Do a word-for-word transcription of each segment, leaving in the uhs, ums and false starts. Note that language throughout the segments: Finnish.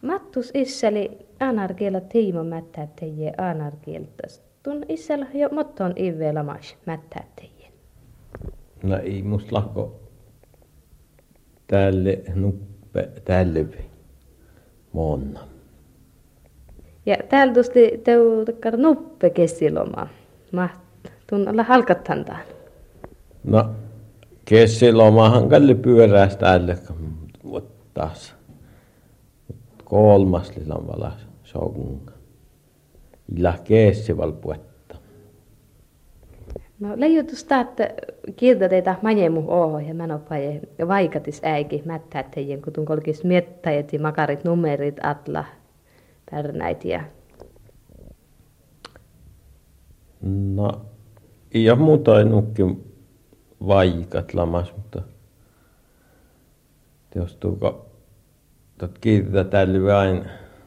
Mattus isseli anarkiela tiimo mättää teijä anarkieltas. Tun issel jo motton ive lamas mättää teijä. No ei musta lakko tälle nuppe tälle monna. Ja täällä tuosti teu takkar nuppe kesiloma. Maht tun olla halkattantaan. No kesilomahan kalli pyöräästä tälle taas. Kolmas lilan valas songa. Illa kesival puetta. No leijutusta, että kirta teitä manjemu oho ja manopaje ja vaikatis äiki mättää teijän, kun tun kolkis miettäjät ja makarit numerit atla pärnäit ja... No, ei ole muuta nukkin vaikat lamas, mutta teostuuko tot kirta tällä aina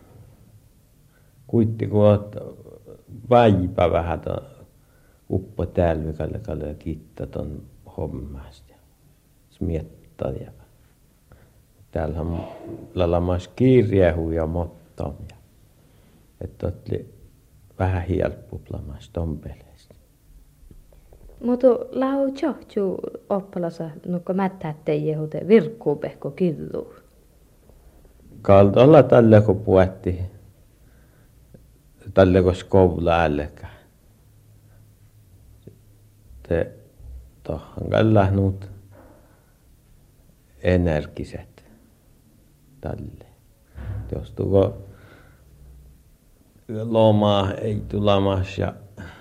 kuitti kun oot väipä vähän ton uppo täällä kalle kalle kiittää ton hommasta ja smiettaa ja täällä on lamas kirjehu ja mottom ja että oli vähän helppoplamas ton peleistä. Mutta lau johtuu oppalassa nukko mättää teijä hute virkkuupehko kirjuu. Kaltolla tälle kun puetti tälle kun skoula ällekään. Te tohon kallähnut energiset tälle. Teostuuko lomaa ei tulamas ja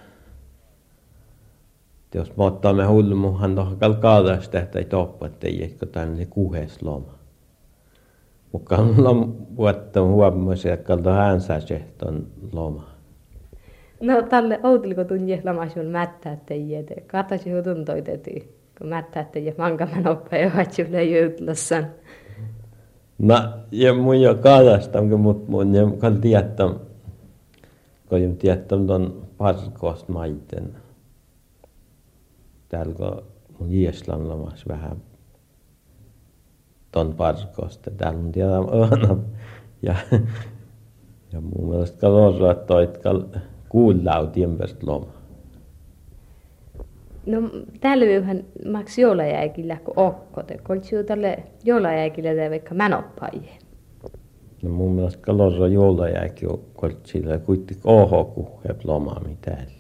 jos me ottamme hulmuhan tohon kalkaadasta tehtä ei toppa, ettei eikö tänne kuhes loma. Mutta on vuotta huomioon, että kalta hänsä ton loma. No tälle outeliko tunje lamasun mättää teijä, te katasi jo tuntoiteti, kun mättää teijä mankaman oppa ja vatsille jytlassan. No, ja mun jo kaadasta, mutta mun jo kal tietää, kun jo tietää ton parkost maiten. Täällä kun mun Ieslan lomas vähän ton parkosta. Täällä on tiedä aina. Ja, ja mun mielestä kalorra toit kal kuullau tiempest loma. No täällä yhden maks joulajääkillä kun okkote. Koltsiu tälle joulajääkillä tai vaikka mänoppaije. No mun mielestä kalorra joulajääki on koltsilla kuitenkin oho kuheb loma mitään.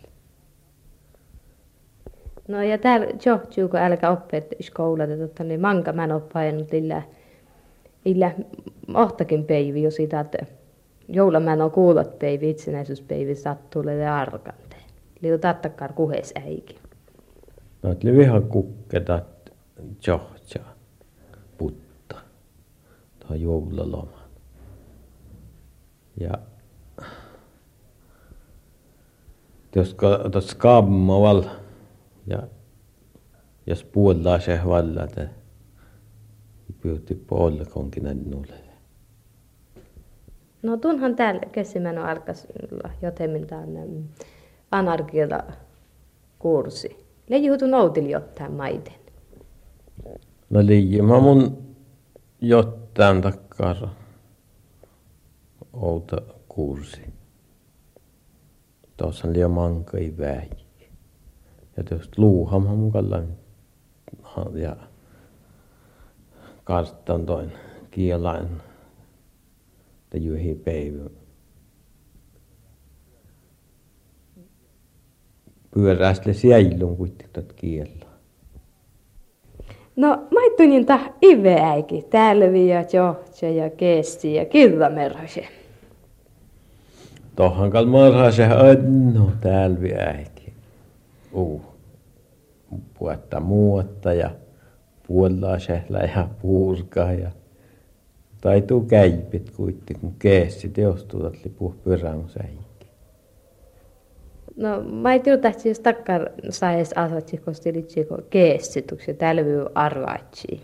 No ja täällä johtuu, kun älkä oppeet skoulata, että niin manka mä en ole painut illa, illa ohtakin päivi jo sitä, että joula mä en ole kuullut päivi, itsenäisyyspäivi sattuu ja arkanteen. Liu tattakkaan kuhes äikin. No et livihan kukketat johtaa putta tuohon joulalomaan. Ja jos otat skammaval ja jos puolella se vallata, pyytti puolella nulle. No tunhan täällä kesimään alkas jotemmin tänne anarkialla kurssi. Leijuutu noutili jotain maiden. No liian mä mun jotain takkara outa kurssi. Tuossa on liian mankai väi. Ja tuosta luuhamaan mukalla ja karttan toin kielain te juhi päivä. Pyörästle sielun kuitenkin tuot kielaa. No maittunin tah iveäiki, tälvi ja johtja ja kesti ja kirramerhase. Tohan kal marhase anno tälvi äiki. Uh. Puetta muotta ja puollasehla ja puurka ja taituu käipit kuitenkin, kun keessi teostuutat lipuh pyrämusäikki. No mä ei tiedä, että siis takkar saisi asatsi, kun stilitsi, kun keessituksia tälvy arvaatsi.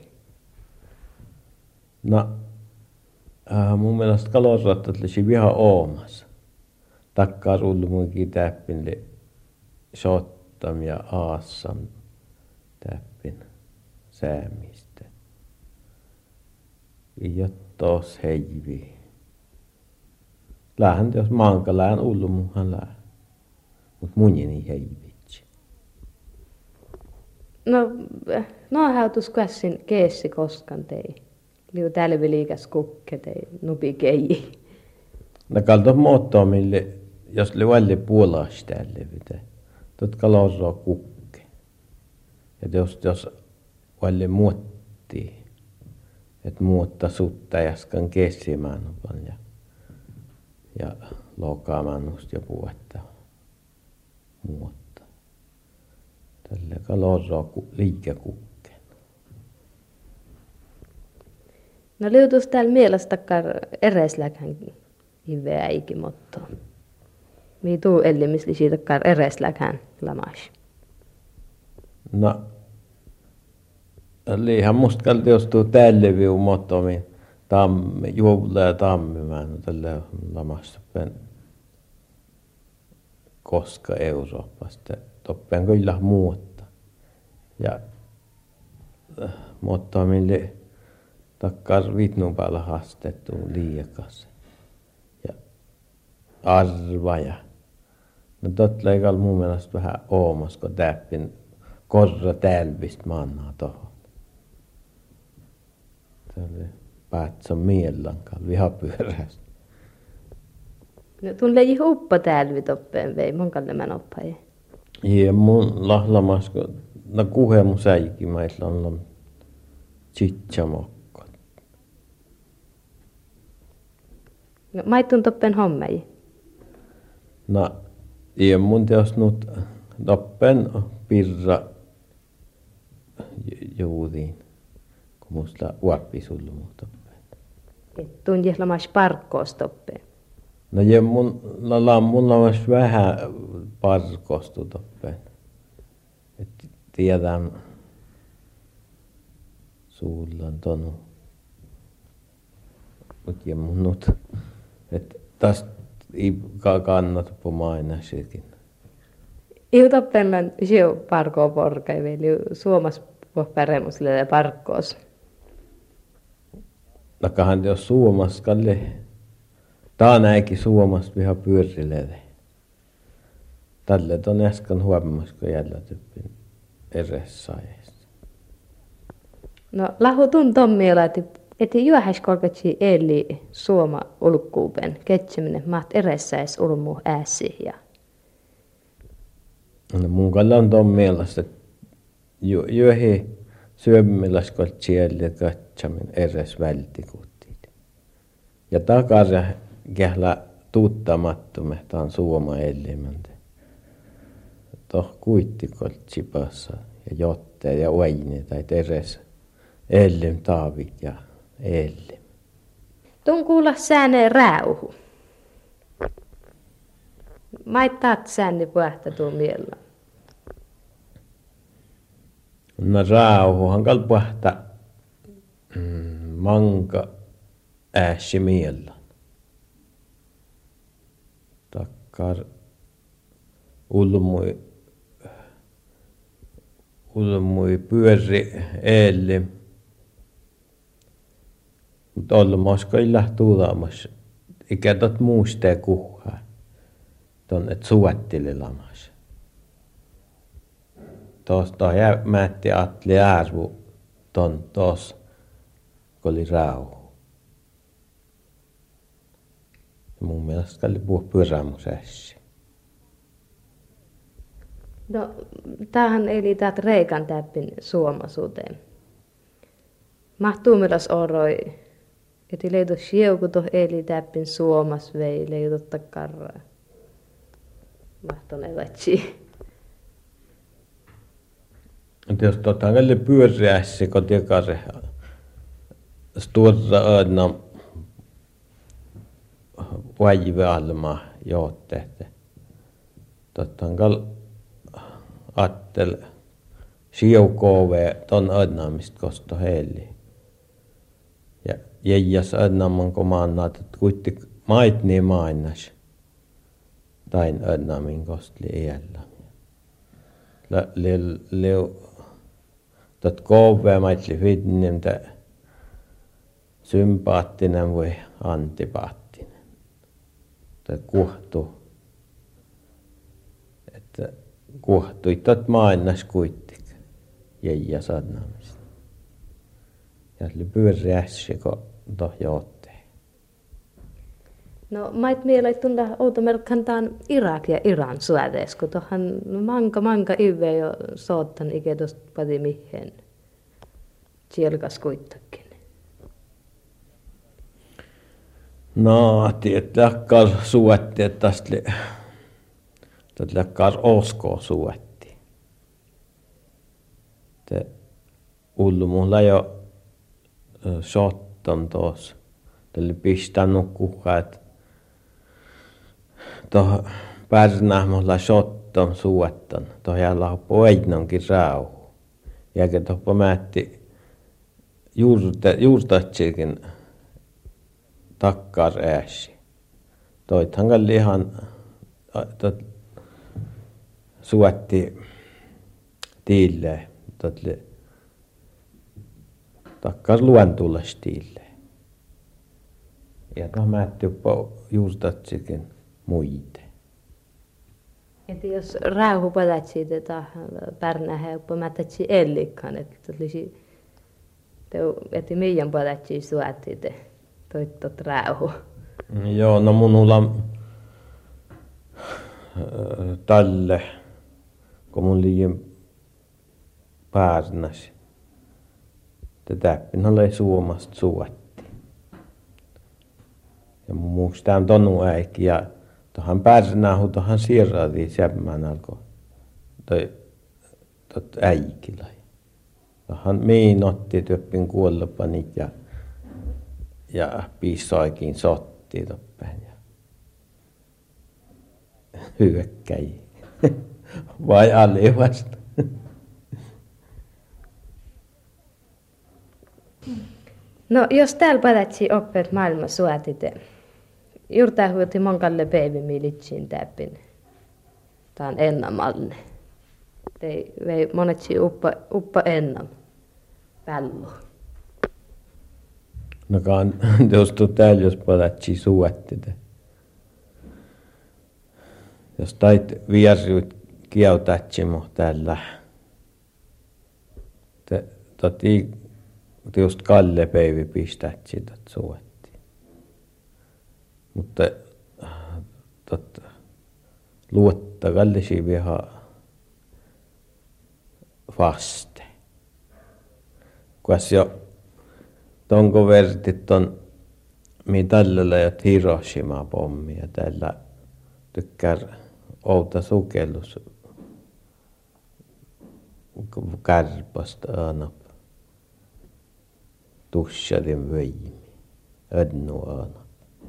No, äh, mun mielestä kalosrattat olisi ihan oomassa. Takkar ullu munkin täppin li sottam ja aassam täppin säämistä. Ja tos heivi. Lähän jos maanka lähän ullu muuhan lähän. Mut munjeni ei vitsi. No, no hautus käsin keessi koskan tei. Liu tälvi liikas kukke tei nupi keiji. No kalto muottoa mille, jos li valli puolaas tälle vite. Totka lorroa kukke. Ja jos, jos valli muottii. Et muotta sutta jäskän kessimään ja, ja lokaamaan ja puetta muotta. Tälle kalorroa liikä kukkeen. No liutus täällä mielestäkään eresläkään hiveä ikimottoon. Mii tuu ellimisli siitäkään eresläkään lamas. No, liihan musta kalti jos tuu tälle viu mottomiin tammi, juovla ja tammi mä no tälle lamassa pen koska Euroopasta. Toppen kyllä muutta. Ja mottomille takkar vitnun päällä haastettu liiakas. Ja arvaja. No tot leikalla mun mielestä vähän oomas, kun täppin korra tälvistä mannaa tohon. Tälle päätsä miellankaan vihapyörästä. No tuun leiji uppa tälvi toppeen vei, mon kalle mä noppaji. Ja mun lahlamas, kun no kuhe mun säikin, mä isla on tsitsamokko. No maittun toppen hommei. No, ja mun teos nyt toppen pirra juuriin, kun musta uoppi sullu mun toppen. Et tuun jehlamas parkkoos toppeen. No ja mun la mun lamas vähän parkostu toppen. Et tiedän suulla on tonu. Mut ja mun nyt, et tästä ei kannata pomaina sekin. Iu toppen siu parkoo porkai veli suomas päremusille parkkoos. Nakahan jos suomas kalle. Tää näikin suomasta viha pyörilele. Tälle on äsken huomas, kun jäljellä typpin eressaajista. No lahu tun tommiela, että eti juohäis kolkatsi eli suoma ulkkuupen ketsiminen maht eressäis ulmu ääsi ja. No mun kalla on ton mielestä, että juohi syömmiläs koltsi jäljellä katsamin eres vältikuttiin. Ja takara kählä tuuttamattomme, tää on suoma elimäntä. Toh kuittikoltsi passa ja jotte ja oini tai eres elim taavit ja elim. Tun kuulla sääne rääuhu. Maittaat sääni puhta tuu miellä. No rauhuhan kalpahta mm, manka ääsi miellä. Takkar ulmui ulmui pyöri eelle. Mutta olmosko ei lähtu ulamas. Ikä tot muistee kuhaa. Ton et suettili lamas. Tuosta mätti Atli Äärsvu ton tos, kun oli rauhu. Ja mun mielestä oli puhua pyrämusässä. No, tämähän eli täältä Reikan täppin suomasuuteen. Mahtuu miras oroi, että leitu sieuku tuohon eli täppin suomas vei, leidutta karraa. Mahtonen vatsi. Jos tota välillä pyöriässä, kun tiekase stora ödna vaivealma jootteette. Totta on kal attel siukove ton ödnaamista kosto heili. Ja jäijäs ödnaaman komannaat, että kuitti mait niin mainas. Tain ödnaamin kostli iällä. Leu tot kove maitli fitnemtä sympaattinen vai antipaattinen. tai kuohtu. Että kuohtui tot maailmas kuitenkin. Jäijä sanamista. Ja oli pyöriässä, kun tohja otteen. No mait mieleen tunna outomerkkaan taan Irak ja Iran suodees, kun tohan manka manka ive jo soottan ikä tosta pati mihin sielkas kuitenkin. No, tietääkään suotti, että tästä läkkään oskoa suotti. Te ullu mulla jo sottan tuossa. Tällä pistänyt kukaan, että tuohon pärnään mulla sottan suottan. Tuohon jäällä poidnonkin rauhu. Jäkä tuohon määtti juurtatsikin takkaar ääsi. Toithan kalli ihan suotti tiille. Takkaar luentulles tiille. Ja tuohon määtti juurtatsikin muite. Että jos rauhu padatsi tätä pärnähän jopa mätätsi ellikkaan, että olisi että meidän padatsi suotti te toittot rauhu. Joo, no minulla tälle, kun mun liian pärnäsi. Tätä oli Suomasta suotti. Ja mun muista on tonu äikki ja tuohan pärnähu tuohan siirratiin semmän alkoi toi tot äikillä. Tuohan miin otti työppin kuollapanit ja ja piissaikin sotti toppen ja hyökkäji. Vai alivasta? No jos täällä padatsi oppeet maailman suotite, juurtaa huuti monkalle päivimi litsiin täppin. Tää on ennamalle. Tei vei monetsi uppa, uppa ennam. Pällu. No kan tuosta täällä jos padatsi suottite. Jos tait viersyt kiautatsi täällä. Te toti just Kalle Päivi pistätsi tot suotti. Mutta tot luotta kallisi viha vaste. Kuas jo tonko vertit on mitallilla jo Hiroshima pommi ja täällä tykkää outa sukellus kärpästä aina. Tussadin vöimi, ödnu aina.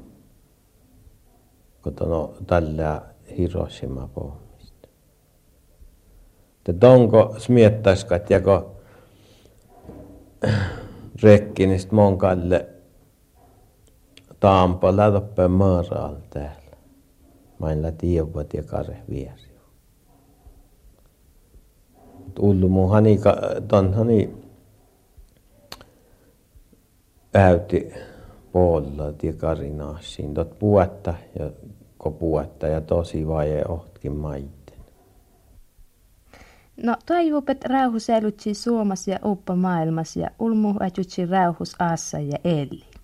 Kotona tällä Hiroshima pohmista. Te tonko smiettaiskat jako rekkinistä monkalle Tampalla toppeen maaraalla täällä. Mailla tiivat ja kare vieri. Ullu mun hani, ton hani äyti puolella tie karinaasiin. Tot puetta ja ko puetta ja tosi vaje ohtkin maitten. No toivupet rauhu säilytsi Suomessa ja uppa maailmassa ja ulmu äitutsi rauhus aassa ja eli.